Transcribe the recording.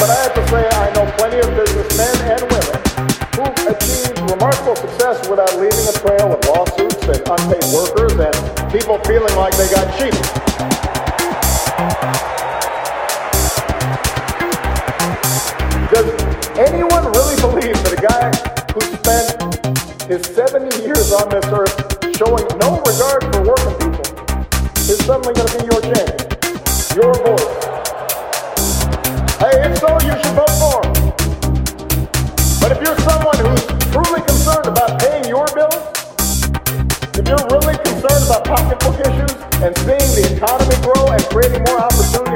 but I have to say I know plenty of businessmen and women who've achieved remarkable success without leaving a trail of lawsuits and unpaid workers and people feeling like they got cheated. Does anyone really believe that a guy who spent his 70 years on this earth showing no regard for working people is suddenly going to be your champion, your voice? Hey, if so, you should vote for him. But if you're someone who's truly concerned about paying your bills, if you're really concerned about pocketbook issues and seeing the economy grow and creating more opportunity